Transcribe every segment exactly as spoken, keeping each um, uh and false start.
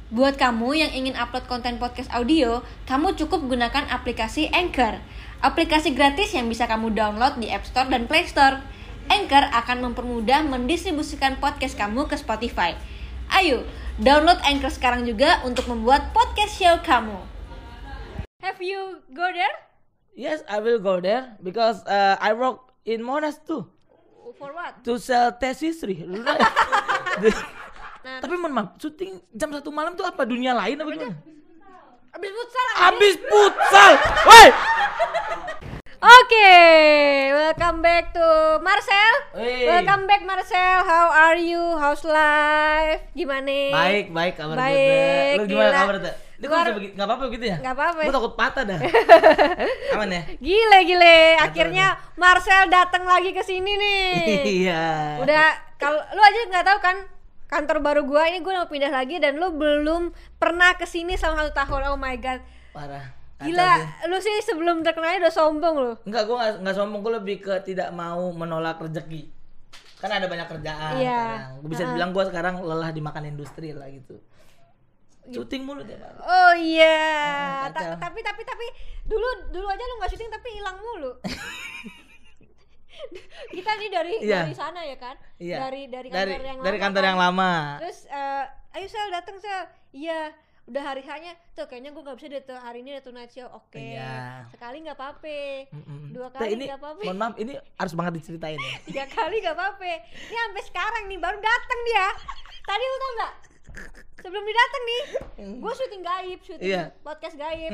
Buat kamu yang ingin upload konten podcast audio, kamu cukup gunakan aplikasi Anchor. Aplikasi gratis yang bisa kamu download di App Store dan Play Store. Anchor akan mempermudah mendistribusikan podcast kamu ke Spotify. Ayo, download Anchor sekarang juga untuk membuat podcast show kamu. Have you go there? Yes, I will go there because uh, I work in Monash too. For what? To sell test history. Nah, tapi mohon maaf, syuting jam satu malam tuh apa dunia lain apa gimana? Abis futsal. Abis futsal. Woi. Oke, welcome back to Marcel. Hey. Welcome back Marcel. How are you? How's life? Gimana? Baik, baik kabar baik, gue. Lu gimana gila. kabar tuh? Ini kok bisa begitu? Enggak apa-apa gitu ya? Enggak apa-apa. Gue takut patah dah. Aman ya? Gile gile. Akhirnya Marcel datang lagi ke sini nih. Iya. Udah kalau lu aja enggak tahu kan kantor baru gua ini gua mau pindah lagi dan lu belum pernah kesini selama satu tahun. Oh my god. Parah. Gila, lu sih sebelum terkenal udah sombong lu. Enggak, gua enggak, enggak sombong, gua lebih ke tidak mau menolak rezeki. Kan ada banyak kerjaan iya. sekarang. Gua bisa uh-huh. bilang gua sekarang lelah dimakan industri lah gitu. Syuting mulu tiap hari. Oh iya. Hmm, Ta- tapi tapi tapi dulu dulu aja lu enggak syuting tapi hilang mulu. Kita nih dari iya. dari sana ya kan? Iya. Dari dari kantor dari, yang dari lama. kantor kan? yang lama. Terus uh, ayo Sel datang Sel. Iya. Udah hari hanya tuh kayaknya gue nggak bisa deh tuh hari ini ada tonight show. Oke. Okay. Iya. Sekali nggak apa-apa. Mm-mm. Dua Nah, kali ini, nggak apa-apa. Mohon maaf, ini harus banget diceritain ya. Tiga kali nggak apa-apa. Ini sampai sekarang nih baru datang dia. Tadi lu tau nggak? Sebelum dia datang nih, gue syuting gaib, syuting iya. podcast gaib.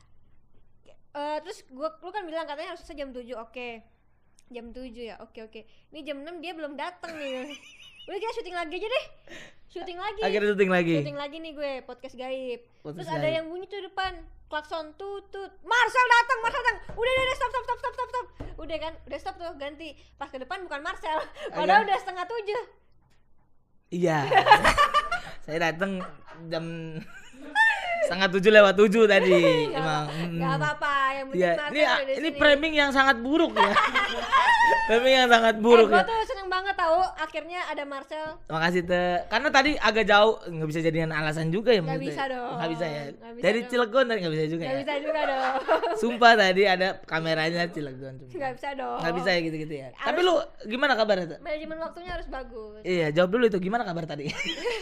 Uh, terus gue, lu kan bilang katanya harus selesai jam tujuh. Oke. Okay. Jam tujuh ya, oke oke. Ini jam enam dia belum datang nih. Udah kita syuting lagi aja deh. Syuting lagi. Akhirnya syuting lagi. Syuting lagi nih gue, podcast gaib. Podcast Terus gaib. ada yang bunyi tuh depan, klakson tutut. Marcel datang, Marcel datang. Udah udah, udah stop stop stop stop stop stop. Udah kan, udah stop tuh, ganti. Pas ke depan bukan Marcel. Padahal udah setengah tujuh. Iya. Saya datang jam setengah tujuh lewat tujuh tadi. Gak, emang. Gak apa-apa, yang penting Ya, Marcel ini udah di ini sini. framing yang sangat buruk ya. Framing yang sangat buruk eh, gue ya. tuh seneng banget tahu akhirnya ada Marcel. Makasih Teh. Karena tadi agak jauh, nggak bisa jadikan alasan juga ya. Nggak bisa dong. Nggak bisa ya. Nggak bisa Dari dong. Cilegon tadi nggak bisa juga Gak ya. bisa juga dong. Sumpah tadi ada kameranya Cilegon. Gak bisa dong. Nggak bisa ya gitu-gitu ya. Harus- Tapi lu gimana kabarnya Teh? Manajemen waktunya harus bagus. Iya, jawab dulu itu gimana kabar tadi?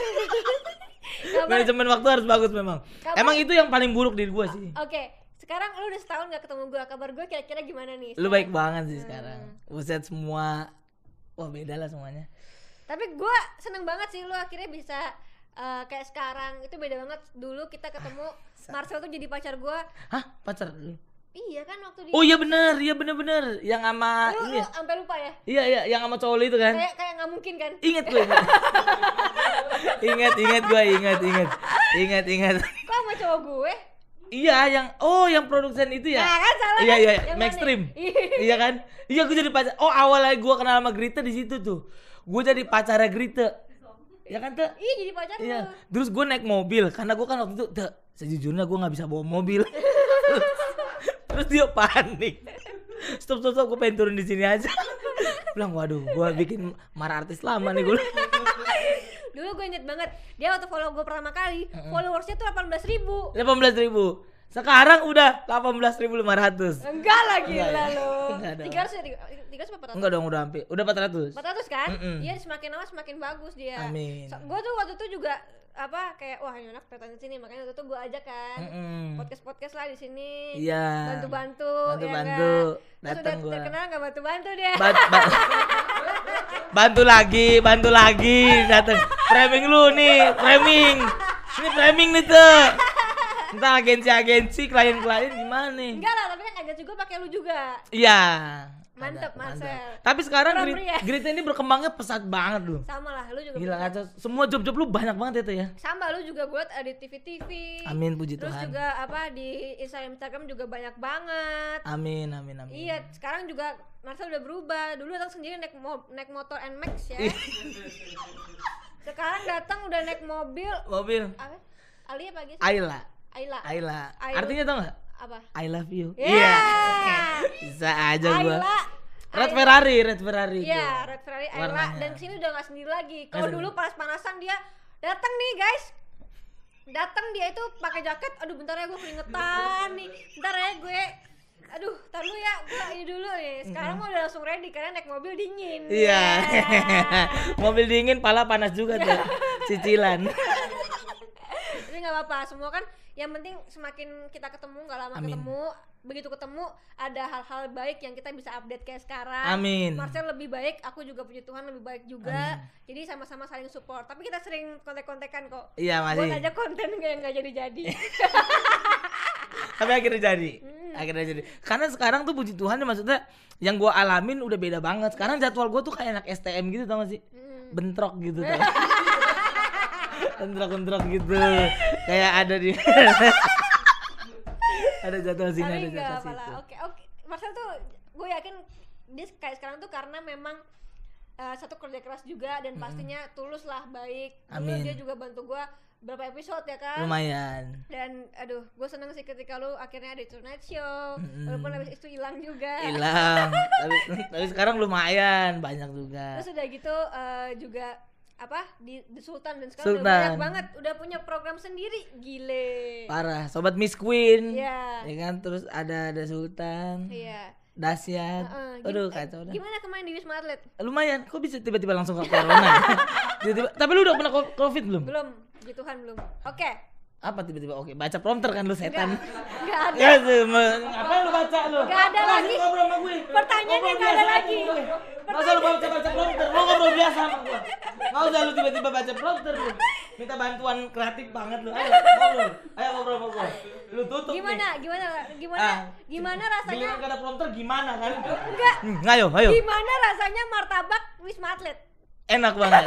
Kabar- Manajemen waktu harus bagus memang. Kabar- Emang itu yang paling buruk di gua sih. Oke, sekarang lu udah setahun gak ketemu gue. Kabar gue kira-kira gimana nih? Lu sekarang? baik banget sih Hmm. sekarang. Buset semua. Wah, beda lah semuanya. Tapi gue seneng banget sih lu akhirnya bisa uh, kayak sekarang. Itu beda banget. Dulu kita ketemu Marcel tuh jadi pacar gue. Hah? Pacar lu? Iya kan waktu di Oh iya bener, iya bener-bener. Yang sama Lu, ini lu ya? sampai lupa ya? Iya, iya, yang sama cowok lu itu kan? Kayak kayak nggak mungkin kan? Ingat gue. Ingat, ingat, ingat gue, ingat, ingat. Ingat, ingat. Kok sama cowok gue? Iya, yang oh yang produsen itu ya? Nah kan salah Iya, kan? iya, Yang Maxstream. mana? Iya kan? Iya, gue jadi pacar. Oh, awalnya gue kenal sama Grita di situ tuh. Gue jadi pacarnya Grita. Ya kan, Teh? Iya jadi pacar Iya. lu. Terus gue naik mobil karena gue kan waktu itu, Teh, sejujurnya gue nggak bisa bawa mobil. Terus dia panik. Stop, stop, stop, gue pengen turun di sini aja. Bilang, waduh, gue bikin marah artis lama nih gue. Dulu gue inget banget, dia waktu follow gue pertama kali, followersnya tuh delapan belas ribu. delapan belas ribu. Sekarang udah delapan belas ribu lima ratus. Enggak lah gila Enggak ya? lu. Enggak dong. tiga ratus ya? tiga ratus apa empat ratus? Enggak dong, udah hampir. Udah empat ratus. empat ratus kan? Mm-mm. Iya, semakin lama semakin bagus dia. Amin. So, gue tuh waktu itu juga apa kayak wah ini anak kelihatan di sini, makanya waktu itu gue ajak kan. Mm-mm. Podcast-podcast lah di sini. Iya. Bantu-bantu, Bantu-bantu. ya kan? Terus Datang udah gua. terkenal enggak bantu-bantu dia. Ba- ba- bantu lagi, bantu lagi, dateng. Framing lu nih, framing. Ini framing nih tuh. Entah agensi-agensi, klien-klien gimana nih? Enggak lah, tapi kan agak juga pakai lu juga. Iya. Mantep, Ada, Marcel. mantap. Tapi sekarang Orang Grit, pria. Grit ini berkembangnya pesat banget loh. Sama lah, lu juga. Gila punya. kacau. Semua job-job lu banyak banget itu ya. Sama lu juga buat ada T V T V. Amin, puji Terus Tuhan. juga apa di Instagram Instagram juga banyak banget. Amin, amin, amin. Iya, sekarang juga Marcel udah berubah. Dulu datang sendiri naik mo- naik motor N Max ya. Sekarang datang udah naik mobil. Mobil. Apa? Ali apa guys? Ayla. Ayla. Ayla. Ayla. Artinya tau gak? Apa? I love you. Yeah. Bisa aja gua. Ayla. Red Ayla. Ferrari, Red Ferrari. Iya, tuh. Red Ferrari Ayla. Warnanya. Dan kesini udah gak sendiri lagi. Kalau Masa? dulu panas-panasan dia datang nih guys. Datang dia itu pakai jaket, aduh bentar ya gue keringetan nih, bentar ya gue, aduh tar lu ya, gue ini dulu nih. Sekarang mah udah langsung ready karena naik mobil dingin. Iya. Yeah. Mobil dingin, pala panas juga tuh. Cicilan. Tapi nggak apa-apa, semua kan yang penting semakin kita ketemu, nggak lama Amin. ketemu, begitu ketemu ada hal-hal baik yang kita bisa update kayak sekarang. Amin. Marcel lebih baik, aku juga puji Tuhan lebih baik juga. Amin. Jadi sama-sama saling support. Tapi kita sering kontek-kontekan kok. Iya masih. Buat aja konten yang nggak jadi-jadi. Tapi akhirnya jadi. Hmm. Akhirnya jadi. Karena sekarang tuh puji Tuhan maksudnya yang gua alamin udah beda banget. Sekarang jadwal gua tuh kayak anak S T M gitu tau gak sih? Hmm. Bentrok gitu tau. Bentrok-bentrok gitu. Kayak ada di ada jadwal sini, ada jadwal situ. Oke, oke. Marcel tuh gue yakin dia kayak sekarang tuh karena memang uh, satu kerja keras juga dan pastinya hmm. tulus lah, baik. Dulu Amin. dia juga bantu gue berapa episode ya kan. Lumayan. Dan aduh, gue seneng sih ketika lu akhirnya ada Tonight Show. Mm-hmm. Walaupun habis itu hilang juga. Hilang. tapi, tapi sekarang lumayan, banyak juga. Terus udah gitu uh, juga apa di The Sultan dan sekarang Sultan. udah banyak banget, udah punya program sendiri, gile. Parah, Sobat Miss Queen. Iya. Ya kan, terus ada ada Sultan. Iya. Dahsyat. Uh, uh, Aduh, gim- kacau dah. Gimana kemarin di Wisma Atlet? Lumayan, kok bisa tiba-tiba langsung ke corona? Tiba-tiba. Tapi lu udah pernah covid belum? Belum, puji Tuhan belum. Oke. Okay. Apa tiba-tiba oke? Baca prompter kan lu setan. Enggak ada. Ya sih, apa lu baca lu? Enggak ada Lu lagi. Ngobrol sama gue. Pertanyaannya enggak ada lagi. Masa lu baca baca prompter? Lu ngobrol biasa sama gua. Enggak usah lu tiba-tiba baca prompter lu. Minta bantuan kreatif banget lu. Ayo ngobrol. Ayo ngobrol sama gua. Lu tutup gimana? nih. Gimana? Gimana? Ah, gimana rasanya? Giliran kata prompter gimana kan? Enggak. Hmm, ayo, ayo. Gimana rasanya martabak Wisma Atlet? Enak banget.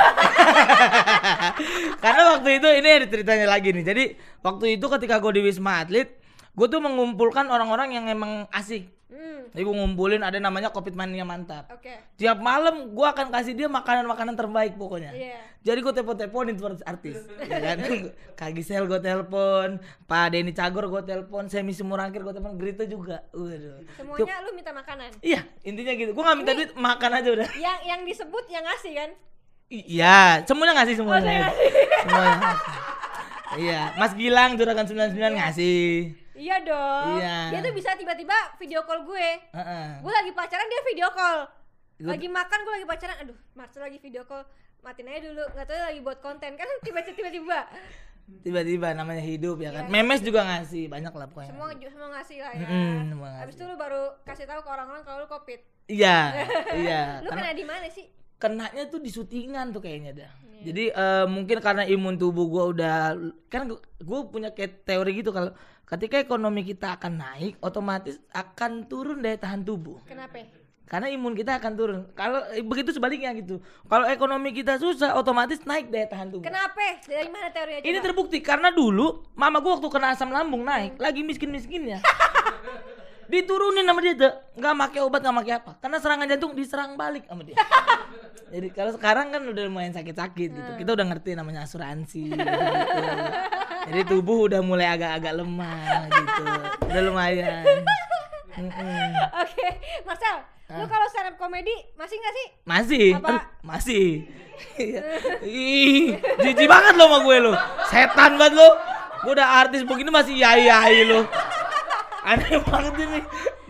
Karena waktu itu ini ada ceritanya lagi nih. Jadi waktu itu ketika gue di Wisma Atlet, gue tuh mengumpulkan orang-orang yang emang asik. Hmm. Jadi gue ngumpulin ada namanya Covid Mania Mantap. Oke. Okay. Tiap malam gue akan kasih dia makanan-makanan terbaik pokoknya. Yeah. Jadi gue telepon-teleponin tuh artis. Ya kan? Kak Gisel gue telepon, Pak Denny Cagor gue telepon, Semi Simurangkir gue telepon, Grita juga. Waduh. Semuanya lu minta makanan. Iya, intinya gitu. Gue nggak minta duit, makan aja udah. Yang yang disebut yang ngasih kan? Iya, semuanya ngasih semuanya. Oh, ngasih. Semuanya ngasih. Iya, Mas Gilang Juragan sembilan puluh sembilan ngasih. Iya dong. Iya. Dia tuh bisa tiba-tiba video call gue. Uh-uh. Gue lagi pacaran dia video call. Gua... Lagi makan gue lagi pacaran. Aduh, Marcel lagi video call. Matiin aja dulu. Enggak tahu lagi buat konten kan tiba-tiba tiba-tiba. Tiba-tiba namanya hidup ya kan. Iya. Memes juga ngasih, banyak lah pokoknya. Semua semua ngasih lah ya. Mm, Habis itu lu baru kasih tahu ke orang-orang kalau lu Covid. Iya, iya. Lu Karena... kena di mana sih? Kenanya tuh di syutingan tuh kayaknya dah. Yeah. Jadi uh, mungkin karena imun tubuh gua udah kan gua punya kayak teori gitu kalau ketika ekonomi kita akan naik otomatis akan turun daya tahan tubuh. Kenapa? Karena imun kita akan turun. Kalau eh, begitu sebaliknya gitu. Kalau ekonomi kita susah otomatis naik daya tahan tubuh. Kenapa? Dari mana teorinya? Ini terbukti karena dulu mama gua waktu kena asam lambung naik, hmm. lagi miskin-miskinnya. Diturunin sama dia tuh, nggak pakai obat, nggak pakai apa, karena serangan jantung diserang balik sama dia. Jadi kalau sekarang kan udah lumayan sakit-sakit gitu, kita udah ngerti namanya asuransi gitu, gitu. Jadi tubuh udah mulai agak-agak lemah gitu, udah lumayan. Oke, Marcel, lu kalau stand up komedi masih nggak sih? Masih, apa? Aduh, masih. Ih, jijik banget lo sama gue lo, setan banget lo. Gue udah artis begini masih yai-yai lo. Aneh banget ini.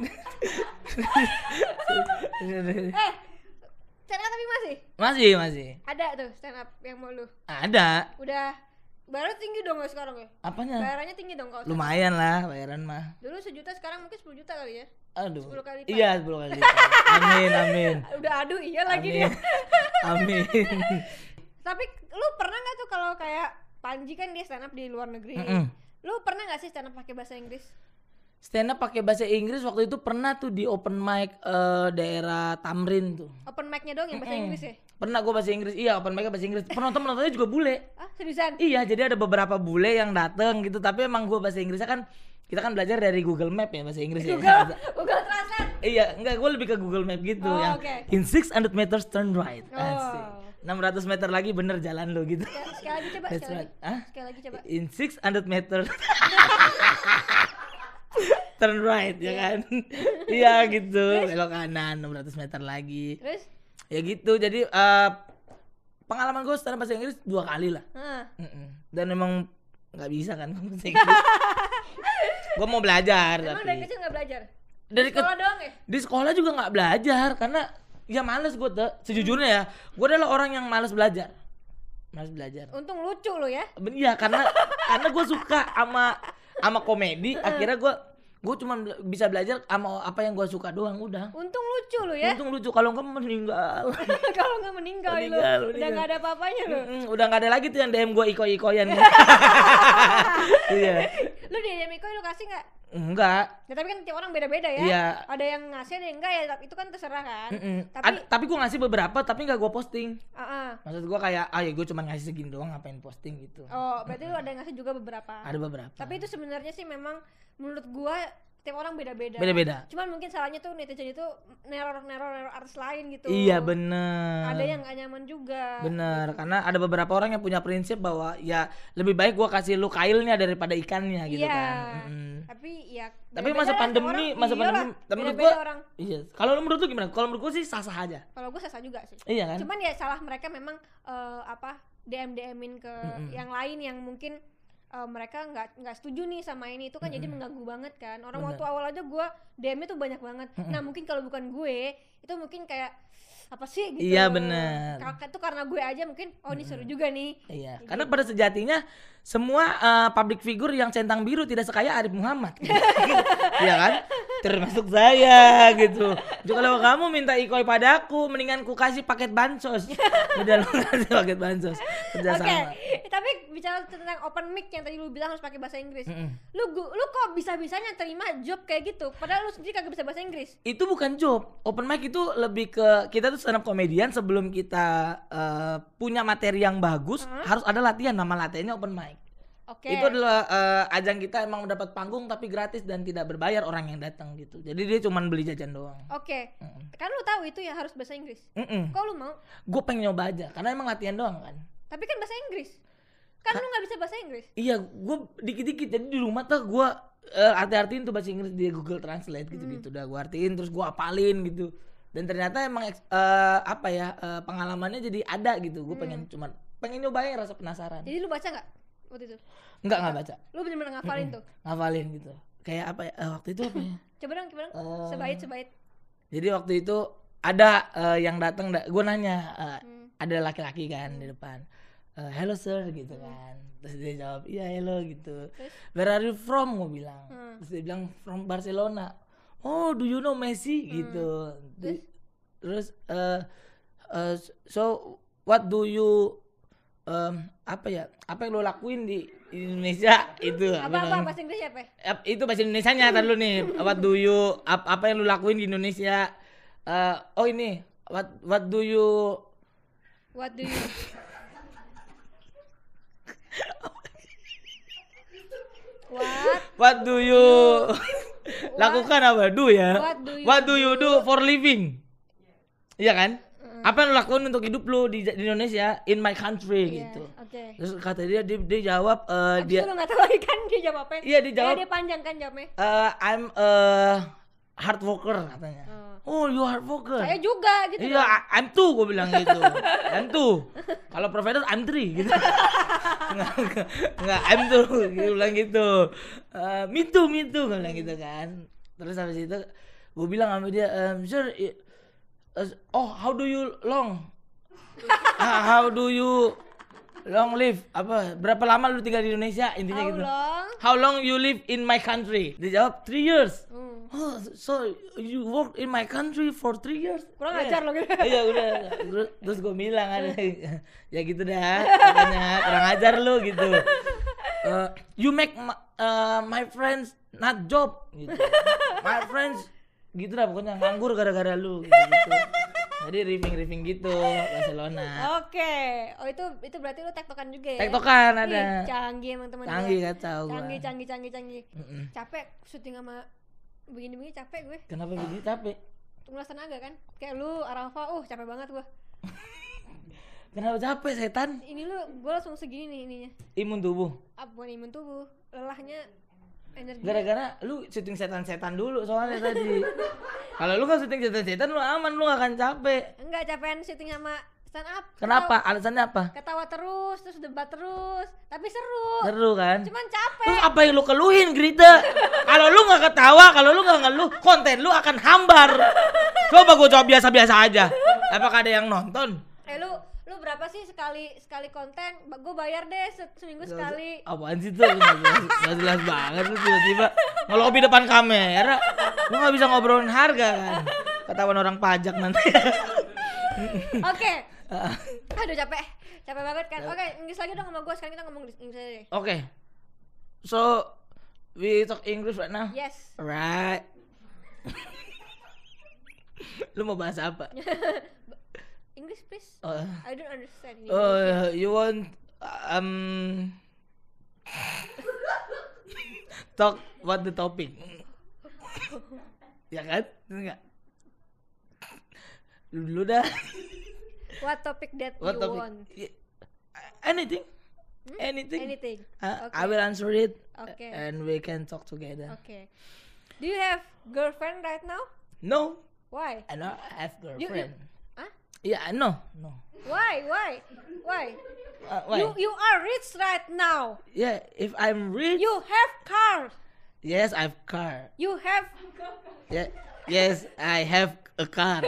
Eh, stand up tapi masih? Masih, masih. Ada tuh stand up yang mau lu? Ada. Udah, baru tinggi dong gak sekarang ya? Apanya? Bayarannya tinggi dong kalau. Lumayan lah bayaran mah. Dulu sejuta, sekarang mungkin sepuluh juta kali ya? Aduh. sepuluh kali lipat. Iya, sepuluh kali lipat. Amin, amin. Udah aduh iya lagi amin. dia. Amin. Tapi lu pernah gak tuh kalau kayak Panji kan dia stand up di luar negeri. Mm-mm. Lu pernah gak sih stand up pakai bahasa Inggris? Stand up pakai bahasa Inggris waktu itu pernah tuh di open mic uh, daerah Tamrin tuh. Open mic-nya doang yang bahasa Mm-mm. Inggris ya? Pernah gue bahasa Inggris. Iya, open mic bahasa Inggris. Penonton-penontonnya juga bule. Ah, seriusan? Iya, jadi ada beberapa bule yang dateng gitu, tapi emang gue bahasa Inggrisnya kan kita kan belajar dari Google Map ya bahasa Inggris Google, ya. Google Translate. Iya, enggak, gue lebih ke Google Map gitu Oh, yang okay. in six hundred meters turn right. Oh. Asik. enam ratus meter lagi bener jalan lo gitu. Sekali, sekali lagi coba, That's sekali right. lagi. Hah? Sekali lagi coba. In six hundred meter turn right ya kan. Iya gitu, belok kanan enam ratus meter lagi. Terus? Ya gitu. Jadi uh, pengalaman gue secara bahasa Inggris dua kali lah. Hah. Mm-mm. Dan emang nggak bisa kan bahasa Inggris. Gue mau belajar. Emang tapi dari kecil nggak belajar? dari Di sekolah ke- doang ya? di sekolah juga nggak belajar karena ya males gue tuh. Sejujurnya ya, gue adalah orang yang males belajar. Males belajar. Untung lucu lo ya. Ben- Iya karena karena gue suka sama sama komedi. Akhirnya gue gue cuma bela- bisa belajar sama apa yang gue suka doang udah. Untung lucu lo ya. Untung lucu kalau enggak meninggal. Kalau nggak meninggal, Meninggal, lo, udah meninggal. nggak ada apa-apanya lo. Mm-mm, udah nggak ada lagi tuh yang D M gue iko-ikoyan. Iya. Lu di D M Iko lu kasih nggak? Enggak. Ya tapi kan tiap orang beda-beda ya. Iya. Ada yang ngasih, ada yang enggak ya. Itu kan terserah kan. Mm-mm. Tapi, Ad- tapi gue ngasih beberapa tapi nggak gue posting. uh-uh. Maksud gue kayak, ah ya gue cuma ngasih segini doang ngapain posting gitu. Oh, berarti lu ada yang ngasih juga beberapa. Ada beberapa. Tapi itu sebenarnya sih memang menurut gua tiap orang beda-beda. Beda-beda. Cuman mungkin salahnya tuh netizen itu neror-neror artis lain gitu. Iya bener. Ada yang gak nyaman juga. Bener, karena ada beberapa orang yang punya prinsip bahwa ya lebih baik gua kasih lu kailnya daripada ikannya gitu Iya. kan. Mm-mm. Tapi ya Tapi beda-beda masa lah, pandemi, tiap orang. masa Iyalah, pandemi, menurut beda-beda gua, orang. iya. Kalau lu menurut lu gimana? Kalau menurut gua sih sah-sah aja. Kalau gue sasa juga sih. Iya kan? Cuman ya salah mereka memang eh, apa D M D M-in ke Mm-mm. yang lain yang mungkin eh, mereka nggak nggak setuju nih sama ini, itu kan jadi mengganggu banget kan. Orang Bener. waktu awal aja gue D M-nya tuh banyak banget. Nah mungkin kalau bukan gue itu mungkin kayak apa sih gitu. Iya, bener. Kakak tuh karena gue aja mungkin oh ini seru juga nih. Iya, Jadi- karena pada sejatinya semua eh, public figure yang centang biru tidak sekaya Arif Muhammad. Iya kan? Termasuk saya gitu. Jadi kalau kamu minta ikoi padaku, mendingan ku kasih paket bansos. Udah lu kasih paket bansos. Oke, Kerjasama. tapi bicara tentang open mic yang tadi lu bilang harus pakai bahasa Inggris. Mm-mm. Lu gu- lu kok bisa-bisanya terima job kayak gitu padahal lu sendiri kagak bisa bahasa Inggris? Itu bukan job. Open mic itu lebih ke kita tuh stand up comedian sebelum kita eh, punya materi yang bagus, harus ada latihan. Nama latihannya open mic. Oke. Itu adalah eh, ajang kita emang mendapat panggung tapi gratis dan tidak berbayar orang yang datang gitu. Jadi dia cuma beli jajan doang. Oke. Mm-mm. Kan lu tahu itu ya harus bahasa Inggris. Mm-mm. Kok lu mau? Gue pengen nyoba aja karena emang latihan doang kan. Tapi kan bahasa Inggris. Kan lu nggak bisa bahasa Inggris. Iya, gue dikit-dikit. Jadi di rumah tuh gue uh, arti-artiin tuh bahasa Inggris di Google Translate gitu-gitu. Udah gue artiin terus gue apalin gitu. Dan ternyata emang eks- eh, apa ya eh, pengalamannya jadi ada gitu. Gue pengen cuma pengen nyobain rasa penasaran. Jadi lu baca nggak waktu itu? Enggak nggak baca, Lu bener-bener ngafalin tuh. ngafalin gitu. Kayak apa ya? eh, waktu itu apa ya? Coba dong, coba dong. Eh. Sebait sebait. Jadi waktu itu ada eh, yang datang, da- gue nanya, eh, Hmm. ada laki-laki kan di depan, Eh, hello sir gitu kan, terus dia jawab iya hello gitu, Terus? where are you from, gue bilang, Hmm. terus dia bilang from Barcelona, oh do you know Messi gitu, Terus? terus eh, eh, so what do you em, apa ya, apa yang lo lakuin di Indonesia itu, Apa apa bilang. bahasa Inggris apa? Ap- itu bahasa Indonesianya tar dulu nih. What do you ap- apa yang lu lakuin di Indonesia? Eh, oh ini what what do you What do you What? what do you lakukan apa? Do ya. What do you What do you do for living? Iya kan? Apa yang lu lakuin untuk hidup lu di, di Indonesia, in my country Iya, gitu. Oke. Terus kata dia dia, dia jawab eh, Abis dia itu lu nggak tahu lagi kan dia jawab apa? Iya, dia jawab. Eh, dia panjang kan jawabnya. eh, I'm a hard worker katanya. Oh, you hard worker. Saya juga gitu. Iya, dong. I- I'm two gue bilang gitu. I'm two. Kalau provider I'm three gitu. Enggak, enggak, enggak, I'm two. Gue bilang gitu. Eh, me too, me too gue bilang gitu kan. Terus habis itu gue bilang sama dia, um, sir, i- uh, oh how do you long? Ah, how do you long live? Apa? Berapa lama lu tinggal di Indonesia? Intinya How gitu. long? How long you live in my country? Dia jawab three years. Hmm. Oh, so you work in my country for three years? Kurang Yeah. ajar lo gitu. Iya udah. Terus, terus gue bilang kan, ya gitu dah. Katanya kurang ajar lu gitu. Uh, you make my, uh, my friends not job gitu. My friends gitu dah pokoknya nganggur gara-gara lu gitu. gitu. Jadi riffing-riffing gitu Barcelona. Oke. Oh itu itu berarti lu tektokan juga ya? Tektokan ada. Ih, canggih emang teman Canggih gue. kacau gua. Canggih, canggih, canggih, canggih. Mm-mm. Capek syuting sama begini-begini capek gue. Kenapa begini capek? Ngulas tenaga kan. Kayak lu Arafa, uh capek banget gua. Kenapa capek setan? Ini lu gua langsung segini nih ininya. Imun tubuh. Ah, bukan imun tubuh. Lelahnya energi. Gara-gara lu syuting setan-setan dulu soalnya tadi. Kalau lu kan syuting setan-setan lu aman, lu gak akan capek. Enggak capean syuting sama Stand up. Kenapa? Ketawa, Alasannya apa? ketawa terus, terus debat terus. Tapi seru. Seru kan? Cuman capek. Terus apa yang lu keluhin, Grita? Kalau lu nggak ketawa, kalau lu nggak ngeluh, konten lu akan hambar. Coba gue jawab biasa-biasa aja. Apakah ada yang nonton? Eh lu lu berapa sih sekali sekali konten? Gue bayar deh se- seminggu sekali. Apaan sih tuh? Nggak jelas, nggak jelas banget lu tiba-tiba ngelobi depan kamera. Lu nggak bisa ngobrolin harga kan? Ketahuan orang pajak nanti. Oke. Aduh capek. Capek banget kan. Oke, Inggris lagi dong sama gue. Sekarang kita ngomong Inggris aja deh. Oke. So we talk English right now. Yes. Right. Lu mau bahas apa? English please. Oh, I don't understand English. oh you want um talk what the topic? Ya kan? Enggak. Lu dulu dah. What topic that What you topic? want? Y- Anything. Hmm? Anything. Anything. Uh, Okay. I will answer it. Okay. And we can talk together. Okay. Do you have girlfriend right now? No, Why? I don't have You, you, girlfriend. huh? Yeah, I know. No. Why? Why? Why? Uh, why? You you are rich right now. Yeah, if I'm rich, You have car. yes, I have car. You have Yeah, yes, I have a car.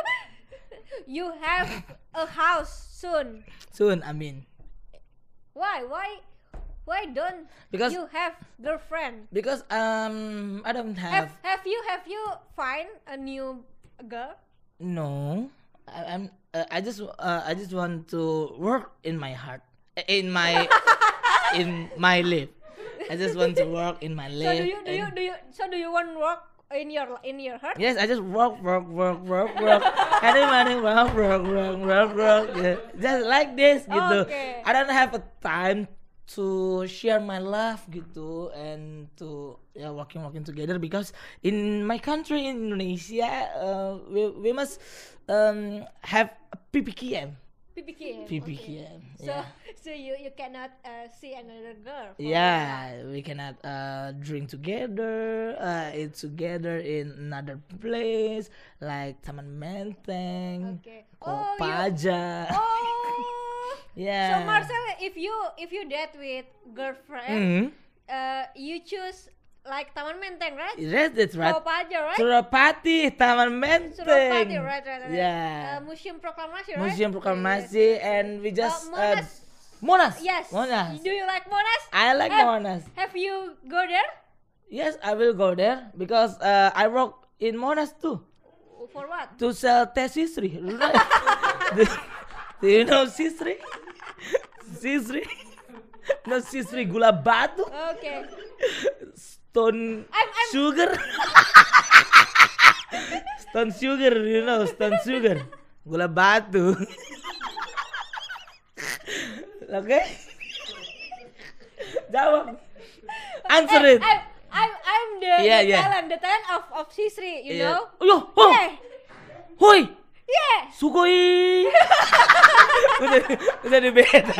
you have a house soon. Soon, I mean, Why? Why? Why don't Because- you have girlfriend? because um, I don't Have have. have you have you find a new girl? No, I, I'm. Uh, I just. Uh, I just want to work in my heart, in my, in my life. I just want to work in my So life. do you do you and- do you so do you want work in your in your heart? Yes, I just work, work, work, work, work. Everybody work, work, work, work, work. Yeah. Just like this, gitu. Okay. I don't have a time to share my love, gitu, and to yeah working, working together because in my country in Indonesia, uh, we we must um have a P P K M. P P K M. P P K Okay. M. So Yeah. so you you cannot uh, see another girl. for Yeah, we cannot uh, drink together, uh, eat together in another place like Taman Menteng, Okay. Oh, you- Kopaja. Oh. Yeah. So Marcel, if you if you date with girlfriend, Mhm. uh, you choose like Taman Menteng, right? Yes, that's right. Kopaja, right? Surapati, Taman Menteng. Suropati, right, right, right. Yeah. Uh, Museum Proklamasi, right? Museum Proklamasi, and we just Uh, uh, Monas. Monas. Yes. Monas. Do you like Monas? I like have, Monas. Have you go there? Yes, I will go there because uh, I work in Monas too. For what? To sell teh sisri. do, do you know sisri? Sisri? No sisri gula batu, Okay. stone I'm- I'm- sugar. Stone sugar, you know, stone sugar. Gula batu. Oke? Jawab. Answer Eh, it. I'm, I'm, I'm the, Yeah, the yeah. talent, the talent of of Sisri, you Iya. know? Yo, oh. Yeah. Hoi. Yeah. Sugoi. udah, udah di beda.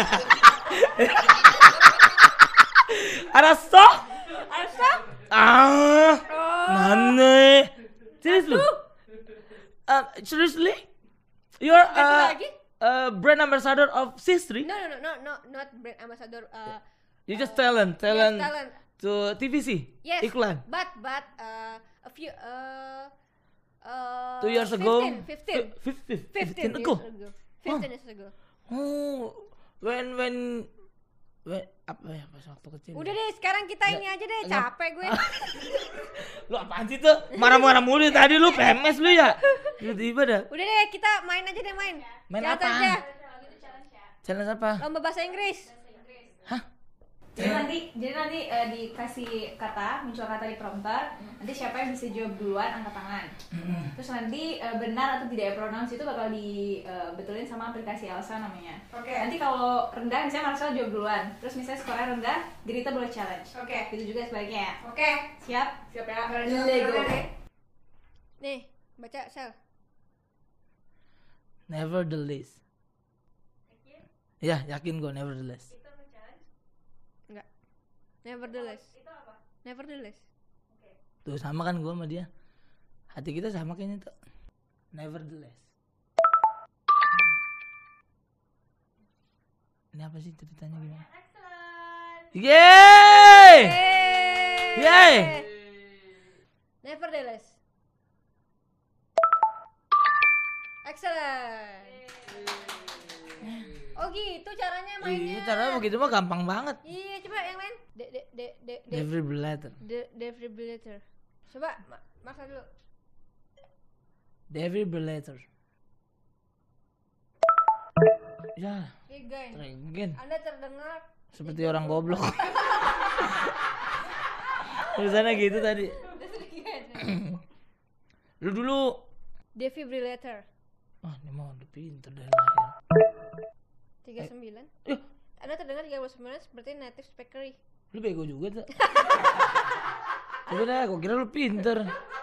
Arasa? Arsa? Ah. Oh. Nane. Seriously? Uh, seriously? You're Satu uh, lagi? uh, brand ambassador of Sistri? No, no, no, no, no, not brand ambassador. Uh, You just talent, yes, talent, talent. to T V C? Yes. Iklan? But but uh, a few uh uh Two years ago? fifteen, fifteen, Fif- fif- fifteen fifteen years ago? ago. fifteen years ago. Oh, when, when, when, apa ya, pas waktu kecil. Udah deh, sekarang kita ini aja deh, Nggak- capek gue. Lu apaan sih tuh? Marah-marah mulu tadi lu, P M S lu ya? Tiba-tiba dah. Udah deh, kita main aja deh main. Main Challenge apa? aja. Challenge apa? Lomba bahasa Inggris. Hah? Jadi nanti, jadi nanti eh, dikasih kata, muncul kata di prompter. Nanti siapa yang bisa jawab duluan angkat tangan. Terus nanti eh, benar atau tidak pronounce itu bakal dibetulin sama aplikasi Elsa namanya. Oke. Nanti kalau rendah, misalnya Marcel jawab duluan. Terus misalnya skornya rendah, Grita boleh challenge. Oke. Gitu juga sebaliknya ya. Oke. Siap? Siap ya. Lego. Nih, baca sel. Nevertheless. Ya, yakin gue nevertheless. Enggak. Nevertheless. Nevertheless. Tuh sama kan gue sama dia. Hati kita sama kayaknya tuh. Nevertheless. Ini apa sih ceritanya gimana? Excellent. Yeay! Yeay. Yeay! Nevertheless. Excellent. Oh gitu caranya mainnya. Iya, caranya begitu mah gampang banget. Iya, coba yang lain. De de de de de Defibrillator. de defibrillator. Coba ma maksa dulu. Defibrillator. Ya, Again. again. Anda terdengar Seperti orang goblok. Tulisannya gitu tadi. Lu dulu. Defibrillator. Ah, ini mah udah pinter dari lahir. tiga puluh sembilan. Eh, Anda terdengar tiga puluh sembilan seperti native speakery. lu bego juga tuh. Coba dah, gua kira lu pinter.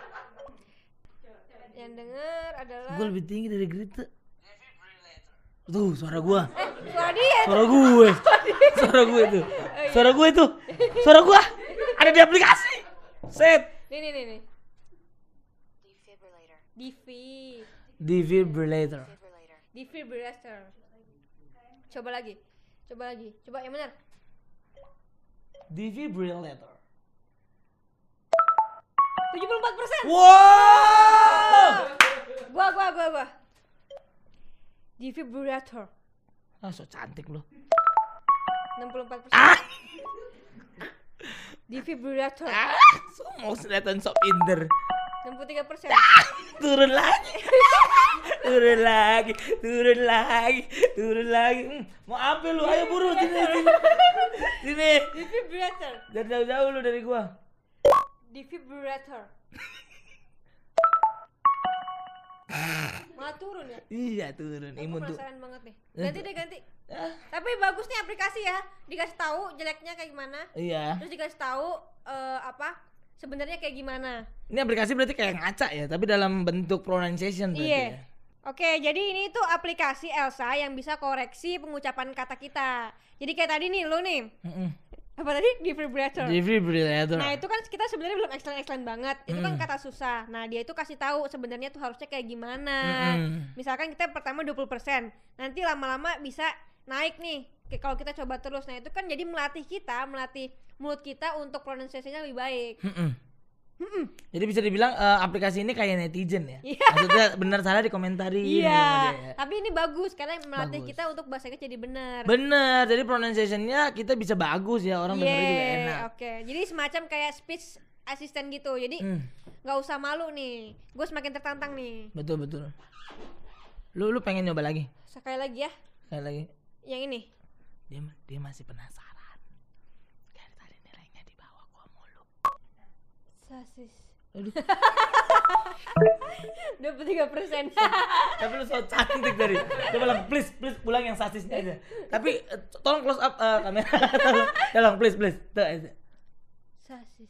Yang dengar adalah Gua lebih tinggi dari Grita. Tuh, suara gua. eh suara dia. Suara gue. Suara gue tuh. Suara gue tuh. Suara gua ada di aplikasi. Set. Nih nih nih nih. Defi. Defibrillator. Defibrillator. Coba lagi. Coba lagi. Coba yang benar. Defibrillator. tujuh puluh empat persen. Wow. Gua gua gua gua. Defibrillator. Ah, so cantik lu. enam puluh empat persen. Ah. Defibrillator. Ah, so mau kelihatan sok pinter. enam puluh tiga persen. Turun lagi. Turun lagi, turun lagi, turun lagi. Hmm, mau apa lu? Ayo buru sini sini. Sini. Defibrillator. Jangan jauh-jauh lu dari gua. Defibrillator. Malah turun ya? Iya, turun. Aku Imun tuh. penasaran banget nih. Ganti deh ganti. Ah, Tapi bagus nih aplikasi ya. Dikasih tahu jeleknya kayak gimana. iya. Terus dikasih tahu eh, apa? Sebenarnya kayak gimana. Ini aplikasi berarti kayak ngaca ya, tapi dalam bentuk pronunciation berarti Iya. ya. Oke, jadi ini tuh aplikasi Elsa yang bisa koreksi pengucapan kata kita. Jadi kayak tadi nih lo nih. Mm-mm. Apa tadi? Defibrillator. Defibrillator. Nah itu kan kita sebenarnya belum excellent-excellent banget. Itu kan Mm. kata susah. Nah dia itu kasih tahu sebenarnya tuh harusnya kayak gimana. Mm-mm. Misalkan kita pertama dua puluh persen, nanti lama-lama bisa naik nih. Kayak kalau kita coba terus. Nah itu kan jadi melatih kita, melatih mulut kita untuk pronunciation-nya lebih baik. Mm-mm. Mm-mm. Jadi bisa dibilang eh, aplikasi ini kayak netizen ya. Iya. Maksudnya benar salah dikomentari. Iya. Tapi ini bagus karena melatih Bagus. kita untuk bahasa Inggris jadi benar. Bener, jadi pronunciation-nya kita bisa bagus ya, orang dengerin juga Yeay, enak. Oke, jadi semacam kayak speech assistant gitu. Jadi Hmm, nggak usah malu nih. Gue semakin tertantang nih. betul betul. Lu lu pengen nyoba lagi? Sekali lagi ya, Sekali lagi. yang ini. Dia dia masih penasaran. Dari tadi nilainya di bawah gua mulu. Sasis. Aduh. dua puluh tiga persen. Tapi lu so cantik tadi. Coba lang, please, please ulang yang sasisnya aja. Tapi eh, tolong close up eh, kamera. tolong, tolong please, please. Tuh aja. Sasis.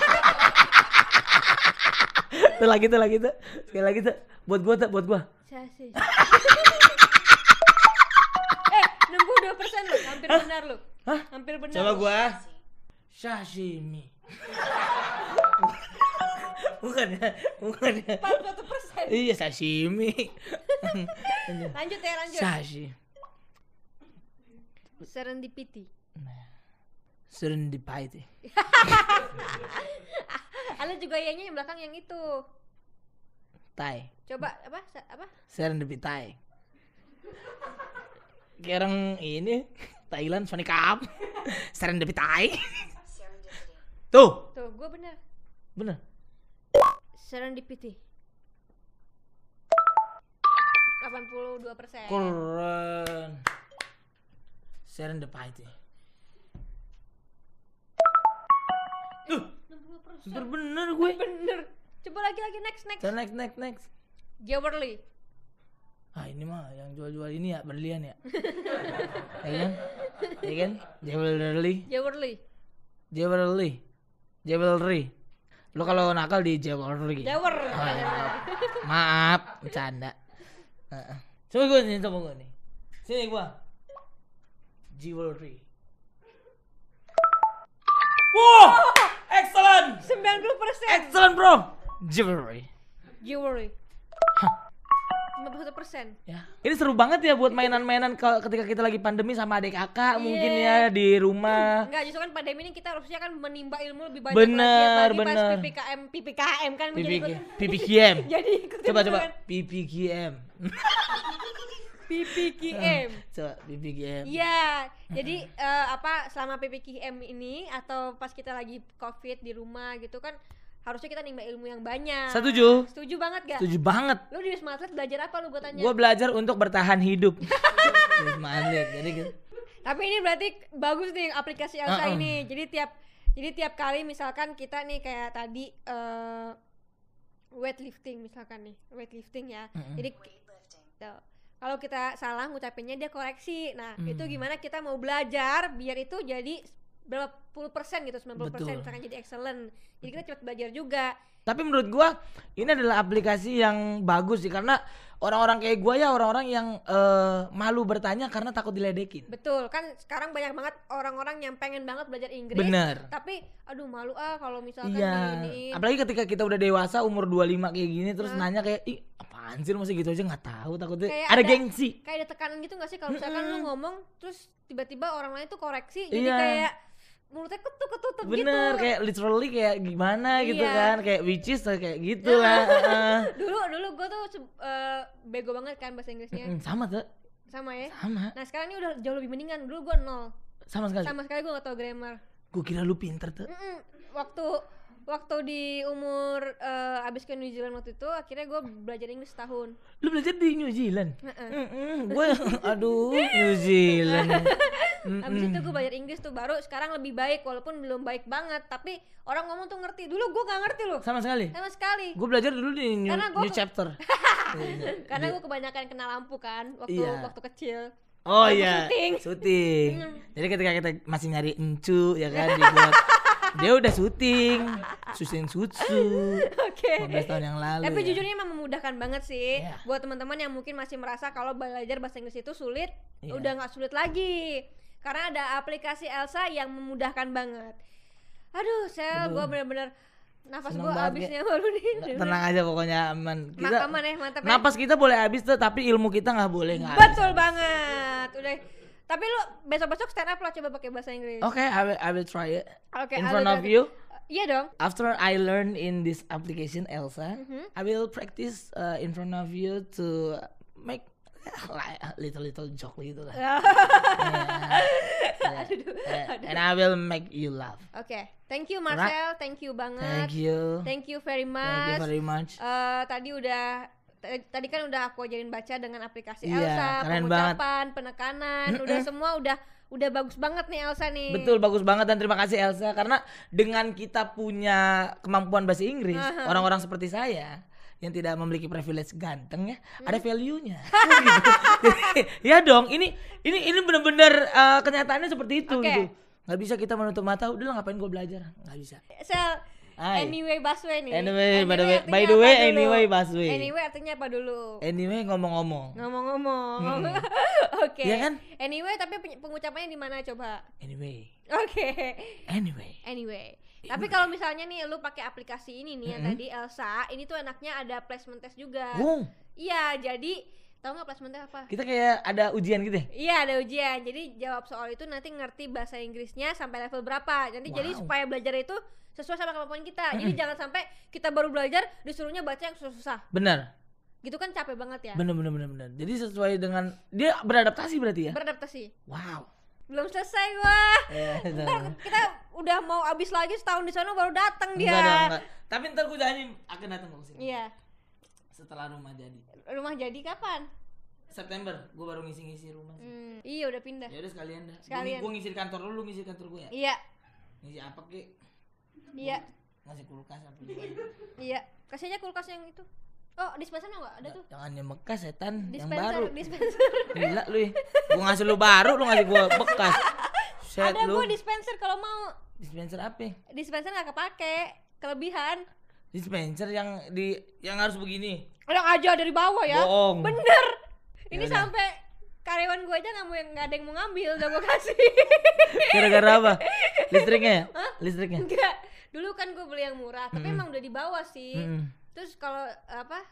Tuh lagi tuh lagi tuh. Sekali lagi tuh. Buat gua tuh, buat gua. Sasis. eh, enam puluh dua persen lu, hampir benar lu. Hah? Hampir benar. Coba lu. gua. Sashimi. Bukan ya, bukan ya. empat puluh satu persen. Iya, sashimi. Lanjut ya, lanjut. Sashi. Serendipity. Serendipity. Ada juga ianya yang belakang yang itu. Tai. Coba apa? Sa- apa? Serendipity. Kayak orang ini Thailand Sonic Cup. Serendipity. Tuh, Tuh, gue benar. bener. Serendipity. delapan puluh dua persen. Keren. Serendipity. Tuh, enam puluh persen. bener bener gue. Bener. Coba lagi lagi next next. So, next next next. Jewelry. Ah ini mah yang jual-jual ini ya berlian ya. Ya kan? Ya kan? Jewelry, Jewelry. jewelry, jewelry. Lu kalau nakal di jewelry. Jewer. Oh, iya. Maaf, bercanda. Heeh. Coba gue nih, coba gue nih. Sini gua. Jewelry. Wow, excellent, sembilan puluh persen. excellent bro. Jewelry. Jewelry. sembilan puluh satu persen. Ya. Ini seru banget ya buat mainan-mainan kalau ketika kita lagi pandemi sama adik kakak mungkin ya di rumah. Enggak, justru kan pandemi ini kita harusnya kan menimba ilmu lebih banyak Bener, lagi. Apalagi bener. pas P P K M, P P K M kan menjadi ikut. P P K M. Jadi ikut Coba coba kan. P P K M. P P K M. Coba P P K M. Iya, jadi eh, apa selama P P K M ini atau pas kita lagi Covid di rumah gitu kan harusnya kita nimba ilmu yang banyak. Setuju. Setuju banget gak? Setuju banget. Lu di Wisma Atlet belajar apa lu gua tanya? Gua belajar untuk bertahan hidup. Wisma Atlet. Jadi gitu. Tapi ini berarti bagus nih aplikasi Elsa Uh-uh. ini. Jadi tiap jadi tiap kali misalkan kita nih kayak tadi eh weightlifting misalkan nih, weightlifting ya. Uh-uh. Jadi tuh, kalau kita salah ngucapinnya dia koreksi. Nah, Hmm. itu gimana kita mau belajar biar itu jadi berapa puluh persen gitu, sembilan puluh persen Betul. misalkan jadi excellent. Jadi kita cepat belajar juga. Tapi menurut gua ini adalah aplikasi yang bagus sih karena orang-orang kayak gua ya orang-orang yang eh, malu bertanya karena takut diledekin. Betul, kan sekarang banyak banget orang-orang yang pengen banget belajar Inggris. Bener. Tapi aduh malu ah kalau misalkan Iya. diiniin. Apalagi ketika kita udah dewasa umur dua puluh lima kayak gini terus nanya kayak ih apaan sih masih gitu aja nggak tahu takutnya Kayak ada ada- gengsi. Kayak ada tekanan gitu gak sih kalau misalkan lu ngomong terus tiba-tiba orang lain tuh koreksi jadi Iya. kayak mulutnya ketuk ketutup gitu. Bener kayak literally kayak gimana gitu Iya. kan kayak which is kayak gitu lah. Heeh. dulu dulu gue tuh se- eh, bego banget kan bahasa Inggrisnya. Mm, sama tuh Sama ya. sama Nah sekarang ini udah jauh lebih mendingan. Dulu gue nol. sama sekali. Sama sekali gue gak tau grammar. Gue kira lu pinter tuh. Mm-mm. Waktu waktu di umur eh, abis ke New Zealand waktu itu akhirnya gue belajar Inggris setahun. Lu belajar di New Zealand? Heeh. Gue aduh New Zealand. Abis itu gue belajar Inggris tuh baru sekarang lebih baik walaupun belum baik banget tapi orang ngomong tuh ngerti. Dulu gue gak ngerti loh Sama sekali. sama sekali. Gue belajar dulu di new, Karena gua- new chapter. Karena gue kebanyakan kena lampu kan waktu Iya. waktu kecil. Oh Lampu iya, syuting. syuting. Jadi ketika kita masih nyari encu ya kan dibuat dia udah syuting, syuting sutsu. Oke. lima belas tahun yang lalu. Tapi ya. jujurnya emang memudahkan banget sih Iya. buat teman-teman yang mungkin masih merasa kalau belajar bahasa Inggris itu sulit, Iya. udah nggak sulit lagi. Karena ada aplikasi Elsa yang memudahkan banget. Aduh, sel, Aduh. gue bener-bener nafas Seneng gue banget, abisnya baru nih. Tenang aja pokoknya aman. Kita aman ya, mantap ya. napas kita boleh habis tuh, tapi ilmu kita nggak boleh nggak Betul banget. Udah. Tapi lu besok-besok stand up lah coba pakai bahasa Inggris. Oke, I will I will try it. Oke, In I front will of try you. Iya dong. After I learn in this application Elsa, Mhm. I will practice uh, in front of you to make like a little little joke gitu lah. Yeah. Yeah. And I will make you laugh. Oke, thank you Marcel, thank you banget. Thank you. Thank you very Thank much. you very much. Eh, tadi udah t- tadi kan udah aku ajarin baca dengan aplikasi Iya, Elsa, keren pengucapan, penekanan, udah semua udah udah bagus banget nih Elsa nih. Betul, bagus banget dan terima kasih Elsa karena dengan kita punya kemampuan bahasa Inggris, Aha. orang-orang seperti saya yang tidak memiliki privilege ganteng ya, Hmm. ada value-nya. Gitu. Ya dong, ini ini ini benar-benar uh, kenyataannya seperti itu Oke. gitu. Nggak bisa kita menutup mata, udah lah ngapain gue belajar? Nggak bisa. Sel, Hai. anyway Baswe nih. Anyway, by the way- artinya by the apa way, dulu? anyway Baswe. Anyway artinya apa dulu? Anyway ngomong-ngomong. Ngomong-ngomong. Oke. Iya kan? Anyway tapi peny- pengucapannya di mana coba? Anyway, Oke. anyway. Anyway. Tapi kalau misalnya nih lu pakai aplikasi ini nih yang tadi Elsa, ini tuh enaknya ada placement test juga. Oh, Iya, jadi tahu nggak placement test apa? kita kayak ada ujian gitu ya? Iya ada ujian, jadi jawab soal itu nanti ngerti bahasa Inggrisnya sampai level berapa. Nanti jadi Wow. supaya belajar itu sesuai sama kemampuan kita. Jadi jangan sampai kita baru belajar disuruhnya baca yang susah-susah. Benar. Gitu kan capek banget ya. Bener bener bener bener. Jadi sesuai dengan dia beradaptasi berarti ya? Beradaptasi. Wow. Belum selesai gua. Ya, Ntar kita udah mau abis lagi setahun di sana baru datang dia. Enggak dong, enggak. Tapi ntar gue janji akan datang ke sini. Iya. Setelah rumah jadi. Rumah jadi kapan? September gue baru ngisi-ngisi rumah sih. Hmm, iya udah pindah. Ya udah sekalian dah. Sekalian. Gue ngisi di kantor lu, lu ngisi di kantor gue ya. Iya. Ngisi apa kek? Iya. Ngasih kulkas apa gimana? Iya. Kasih aja kulkas yang itu. Oh, dispenser enggak ada tuh. Jangan yang bekas setan, yang Dispenser, baru. dispenser. Gila lu ya. Gue ngasih lu baru, lu ngasih gue bekas. Set Ada lu. gua dispenser kalau mau. Dispenser apa? Dispenser nggak kepake, kelebihan. Dispenser yang di yang harus begini. Orang aja dari bawah ya. Bohong. Bener. Ini Yaudah. sampai karyawan gue aja nggak mau yang nggak ada yang mau ngambil, udah gue kasih. Gara-gara apa? Listriknya ya? Listriknya. Enggak. Dulu kan gue beli yang murah, tapi Mm-mm. emang udah di bawah sih. Mm-mm. Terus kalau apa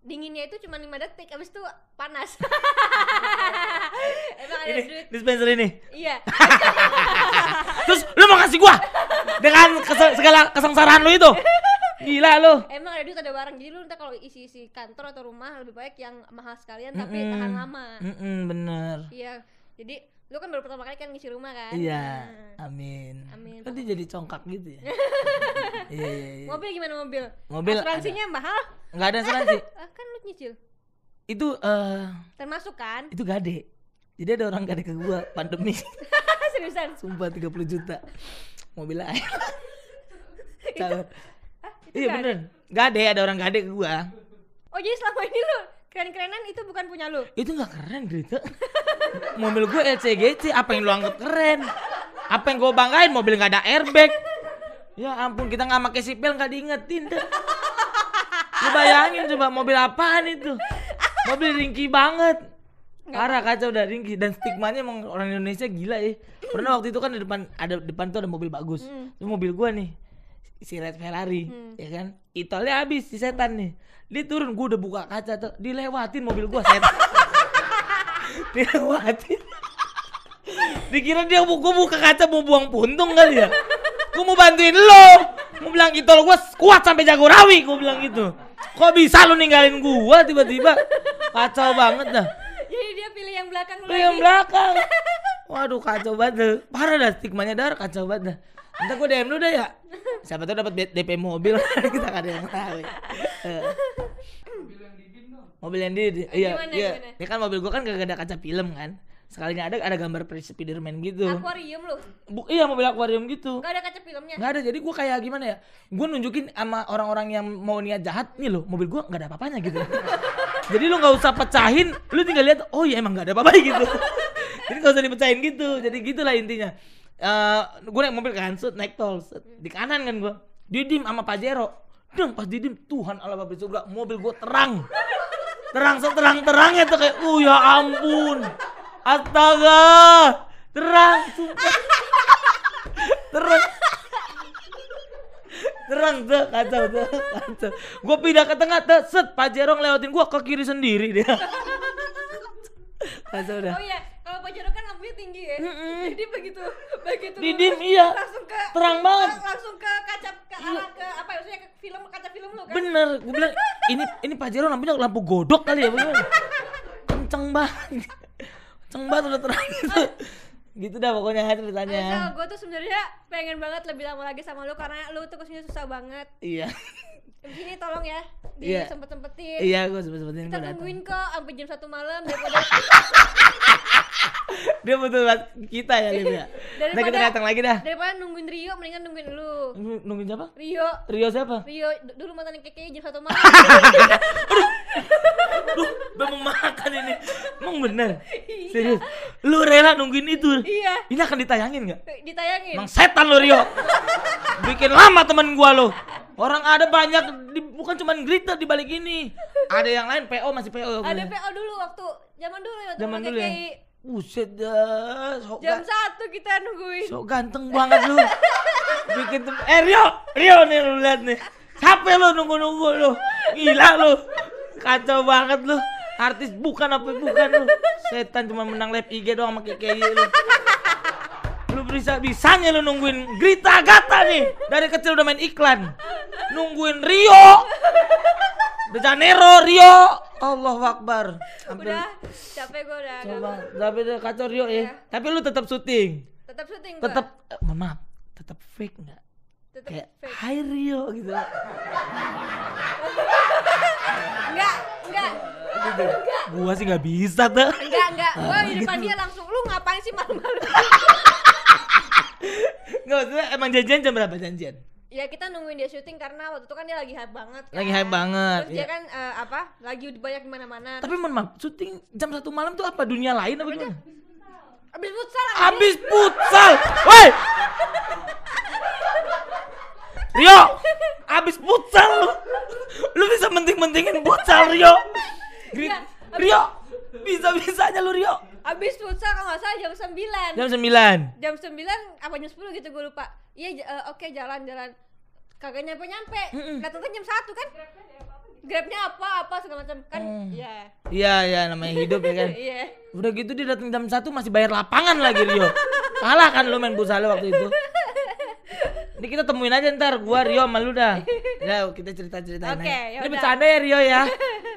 dinginnya itu cuma lima detik, abis itu panas. Emang ada Ini duit. dispenser ini. Iya. Terus lu mau kasih gua dengan kese- segala kesengsaraan lu itu. Gila lu. Emang ada duit ada barang. Jadi lu ntar kalau isi-isi kantor atau rumah lebih baik yang mahal sekalian tapi Mm-mm. tahan lama. Mm-mm, bener. Iya. Jadi lu kan baru pertama kali kan ngisi rumah kan? Iya, Nah. amin. Amin. Kan dia jadi congkak gitu ya. Iya, iya, iya. Mobil gimana mobil? Mobil Asuransinya mahal? Enggak ada asuransi. Ah, kan lu nyicil. Itu eh Termasuk kan? itu gade. Jadi ada orang gade ke gua pandemi. Seriusan? Sumpah tiga puluh juta. Mobil air. Calon. Itu Iya nggak ada? beneran. Gade, ada orang gade ke gua. Oh jadi selama ini lu keren-kerenan itu bukan punya lu? Itu nggak keren Grita. Mobil gue L C G C, apa yang lu anggap keren? Apa yang gue banggain? Mobil nggak ada airbag. Ya ampun, kita nggak pakai sipil nggak diingetin deh. Lu bayangin coba mobil apaan itu? Mobil ringkih banget. Parah kacau udah ringkih dan stigmanya emang orang Indonesia gila ya. Pernah waktu itu kan di depan ada depan tuh ada mobil bagus. Hmm. Itu mobil gua nih. Si Red Ferrari, Hmm. ya kan? Itolnya habis si setan nih. Dia turun, gua udah buka kaca tuh, dilewatin mobil gua setan. Dilewatin. Dikira dia gua buka kaca mau buang puntung kali ya. Gua mau bantuin lo. Mau bilang Itol gua kuat sampai Jagorawi, gua bilang gitu. Kok bisa lu ninggalin gua tiba-tiba? Kacau banget dah. Jadi dia pilih yang belakang lu Lu yang lagi. belakang. Waduh kacau banget dah. Parah dah stigmanya dar kacau banget dah. Ntar gue D M lu dah ya. Siapa tahu dapat D P mobil. Kita gak ada yang tahu ya. Eh. Mobil yang di iya Gimana, iya. gimana? Ya kan mobil gua kan gak ada kaca film kan. Sekalinya ada ada gambar Spiderman gitu. Akuarium lu. Bu, iya mobil akuarium gitu. Gak ada kaca filmnya. Nggak ada, jadi gue kayak gimana ya, gue nunjukin sama orang-orang yang mau niat jahat, nih loh mobil gue nggak ada apa-apanya gitu. Jadi lu nggak usah pecahin, lu tinggal lihat, oh iya emang nggak ada apa-apa gitu. Jadi nggak usah dipecahin gitu, jadi gitulah intinya. Uh, gue naik mobil kan, set, naik tol, set, di kanan kan gue, didim sama Pajero, dong pas didim, Tuhan Allah Bapa surga, mobil gue terang, terang seterang-terangnya tuh kayak, uh ya ampun, astaga, terang, sumpah. terang terang tuh kacau tuh kacau gue pindah ke tengah tuh set Pajero ngelewatin gue ke kiri sendiri dia kacau dah. Oh iya, kalau Pajero kan lampunya tinggi ya. Mm-mm. Jadi begitu begitu Didim, iya. langsung ke Terang banget. lang- langsung ke kaca ke arah ke apa ya, maksudnya ke film kaca film lu kan. Bener gue bilang ini ini Pajero lampunya lampu godok kali ya bener. Kenceng banget kenceng banget udah terang gitu gitu dah pokoknya ceritanya. Asal gue tuh sebenarnya pengen banget lebih lama lagi sama lu karena lu tuh kesini susah banget. Iya Begini tolong ya, Iya. disempet-sempetin. iya gue sempet-sempetin Kita gue datang. tungguin kok sampai jam satu malam daripada Dia butuh buat kita ya Lim ya. Nah kita datang lagi dah. daripada nungguin Rio, mendingan nungguin lu. Nunggu- Nungguin siapa? Rio, Rio siapa? Rio d- dulu mantan keke jam satu malam. Duh, udah mau makan ini. Emang bener? Serius? Lu rela nungguin itu? Iya, Ini akan ditayangin gak? ditayangin. Emang setan lu Rio. Bikin lama temen gua lo. Orang ada banyak, di, bukan cuma Grita di balik ini. Ada yang lain P O masih P O. Ada P O dulu waktu zaman dulu ya, waktu Zaman sama dulu ya. K K I. Buset dah. Sok, Jam ga- satu kita nungguin. sok ganteng banget lu. Bikin tem- eh Rio, Rio nih lu lihat nih. Capek lu nunggu-nunggu lu. Gila lu. Kacau banget lu. Artis bukan apa bukan lu. Setan cuma menang live I G doang sama K K I lu. Lu bisa bisanya lu nungguin Grita Agatha nih. Dari kecil udah main iklan. Nungguin Rio. De Janeiro, Rio. Allahu Akbar. Hampir Udah, capek gue udah. coba, tapi udah kacau Rio ya. Iya. Tapi lu tetap syuting. Tetap syuting gua. Tetap eh, mohon maaf, tetap fake enggak? Tetap Kayak fake. Hai Rio gitu. Enggak, enggak. Gua sih nggak bisa tuh. Enggak, enggak. Gua di depan gitu. dia langsung, lu ngapain sih malam-malam? Nggak maksudnya emang janjian jam berapa janjian? Ya kita nungguin dia syuting karena waktu itu kan dia lagi hype banget kan. Lagi hype banget, Terus dia iya. kan eh, apa? Lagi banyak di mana-mana. Tapi mohon maaf, syuting jam satu malam tuh apa dunia lain apa gimana? Abis futsal anjing. Abis futsal, woi. Rio, abis futsal lu, lu bisa menting-mentingin futsal Rio. Gri- Iya, Rio, bisa-bisanya lu Rio. Abis futsal kalau nggak salah jam sembilan. Jam sembilan. Jam sembilan apa jam sepuluh gitu gue lupa. Iya j- eh, oke jalan-jalan. Kagak nyampe-nyampe. Mm-mm. Datangnya jam satu kan? Grabnya apa apa segala macam kan. Oh. Iya. Iya ya namanya hidup ya kan. Iya. Udah gitu dia datang jam satu masih bayar lapangan lagi Rio. Kalah kan lu main futsal waktu itu. Ini kita temuin aja ntar gua Rio sama lu dah. Ya kita cerita-ceritain Oke, aja. Ini yaudah. bercanda ya Rio ya.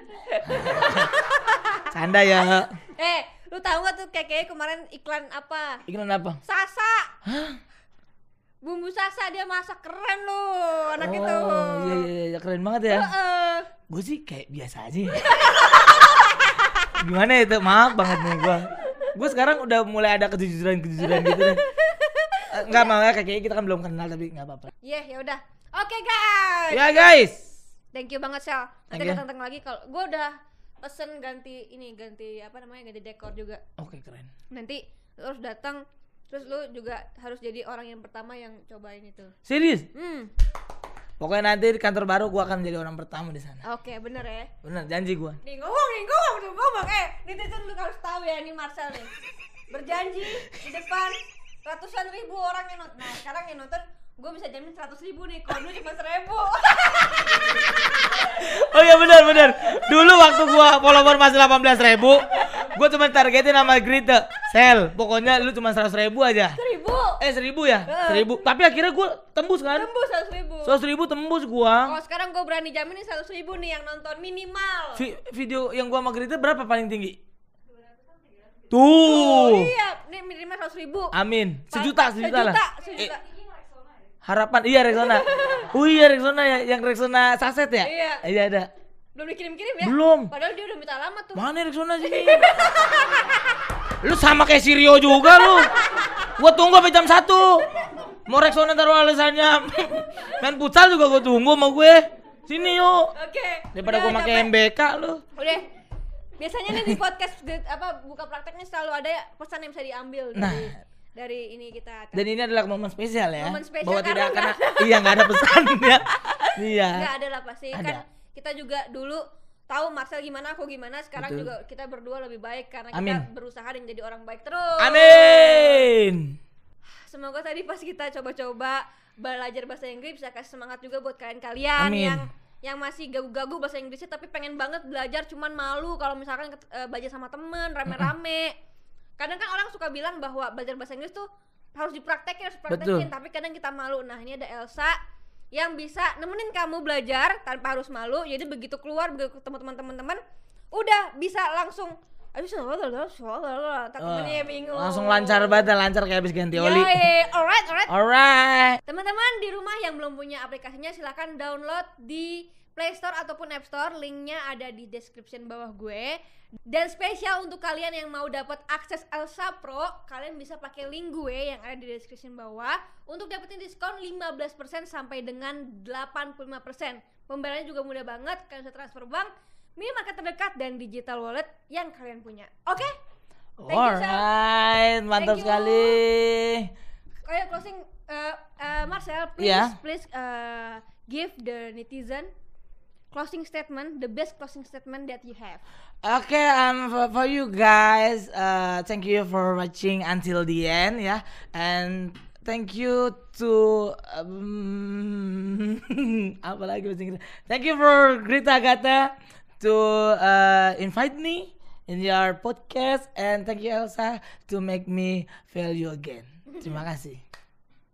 Canda ya. Eh, lu tahu gak tuh kayak kayak kemarin iklan apa? Iklan apa? Sasa. Hah? Bumbu Sasa dia masak keren loh anak Oh, itu. iya iya iya keren banget ya. Heeh. Gue sih kayak biasa aja. Ya. Gimana ya itu? Maaf banget nih gue. Gue sekarang udah mulai ada kejujuran-kejujuran gitu deh. Enggak mau ya kayaknya kita kan belum kenal tapi enggak apa-apa. Iya, ya udah. Oke, guys. Ya guys. Thank you banget, Sel. Nanti Thank you. datang lagi kalau gue udah pesen ganti ini, ganti apa namanya? Ganti dekor juga. Oke keren. Nanti lu harus datang, terus lu juga harus jadi orang yang pertama yang cobain itu. Serius? Hmm. Pokoknya nanti di kantor baru gue akan menjadi orang pertama di sana. Oke, bener ya. Bener janji gue. Nih ngomong nih ngomong tuh ngomong eh netizen lu harus tahu ya ini Marcel nih berjanji di depan ratusan ribu orang yang nonton. Nah sekarang yang nonton gue bisa jamin seratus ribu nih kalau dulu cuma seribu. Oh iya benar benar. Dulu waktu gue follower masih delapan belas ribu, gue cuma targetin nama Grita. Sel, pokoknya lu cuma seratus ribu aja. Seribu. Eh seribu ya? Seribu. Tapi akhirnya gue tembus kan? Tembus seratus ribu. Seratus ribu tembus gue. Kalau sekarang gue berani jamin nih seratus ribu nih yang nonton minimal. Vi- video yang gua sama Grita berapa paling tinggi? Oh, Tuh. iya, nih minimal seratus ribu. Amin. Sejuta, sejuta lah. Sejuta. Eh, harapan iya Rexona. Oh iya Rexona ya, yang Rexona saset ya? Iya. Iya ada. Belum dikirim-kirim ya? Belum. Padahal dia udah minta alamat tuh. Mana Rexona sini? Lu sama kayak si Rio juga lu. Gua tunggu sampai jam satu. Mau Rexona taruh alasannya. Main futsal juga gua tunggu sama gue. Sini yuk. Oke. Daripada udah gua pakai capek. M B K lu. Udah. Biasanya nih di podcast di, apa buka prakteknya selalu ada pesan yang bisa diambil dari Nah. dari ini kita. Dan ini adalah momen spesial ya. Momen spesial bahwa tidak karena akan iya nggak ada pesannya. Iya. Enggak ada lah pasti Ada. kan kita juga dulu tahu Marcel gimana aku gimana sekarang Betul. juga kita berdua lebih baik karena Amin. kita berusaha dan jadi orang baik terus. Amin. Semoga tadi pas kita coba-coba belajar bahasa Inggris bisa kasih semangat juga buat kalian-kalian Amin. yang yang masih gagu-gagu bahasa Inggrisnya tapi pengen banget belajar cuman malu kalau misalkan ket- eh, belajar sama temen rame-rame. Kadang kan orang suka bilang bahwa belajar bahasa Inggris tuh harus dipraktekin, harus dipraktekin, Betul. tapi kadang kita malu. Nah, ini ada Elsa yang bisa nemenin kamu belajar tanpa harus malu. Jadi begitu keluar begitu ketemu teman-teman, udah bisa langsung habis tak temennya bingung. Langsung lancar banget, lancar kayak habis ganti oli. Yoi, alright, alright. Alright. Teman-teman di rumah yang belum punya aplikasinya silahkan download di Play Store ataupun App Store. Linknya ada di description bawah gue. Dan spesial untuk kalian yang mau dapat akses Elsa Pro, kalian bisa pakai link gue yang ada di description bawah untuk dapetin diskon lima belas persen sampai dengan delapan puluh lima persen. Pembayarannya juga mudah banget, kalian bisa transfer bank, minimarket terdekat dan digital wallet yang kalian punya. Oke? Thank you, Sal. Alright, mantap Thank you. sekali. Kayak closing uh, uh, Marcel, please Iya. please uh, give the netizen closing statement, the best closing statement that you have. Okay, um, for, for you guys, uh, thank you for watching until the end, ya, and thank you to um, apa lagi bahasa Inggris? Thank you for Grita Agatha to uh, invite me in your podcast, and thank you Elsa to make me feel you again. Terima kasih.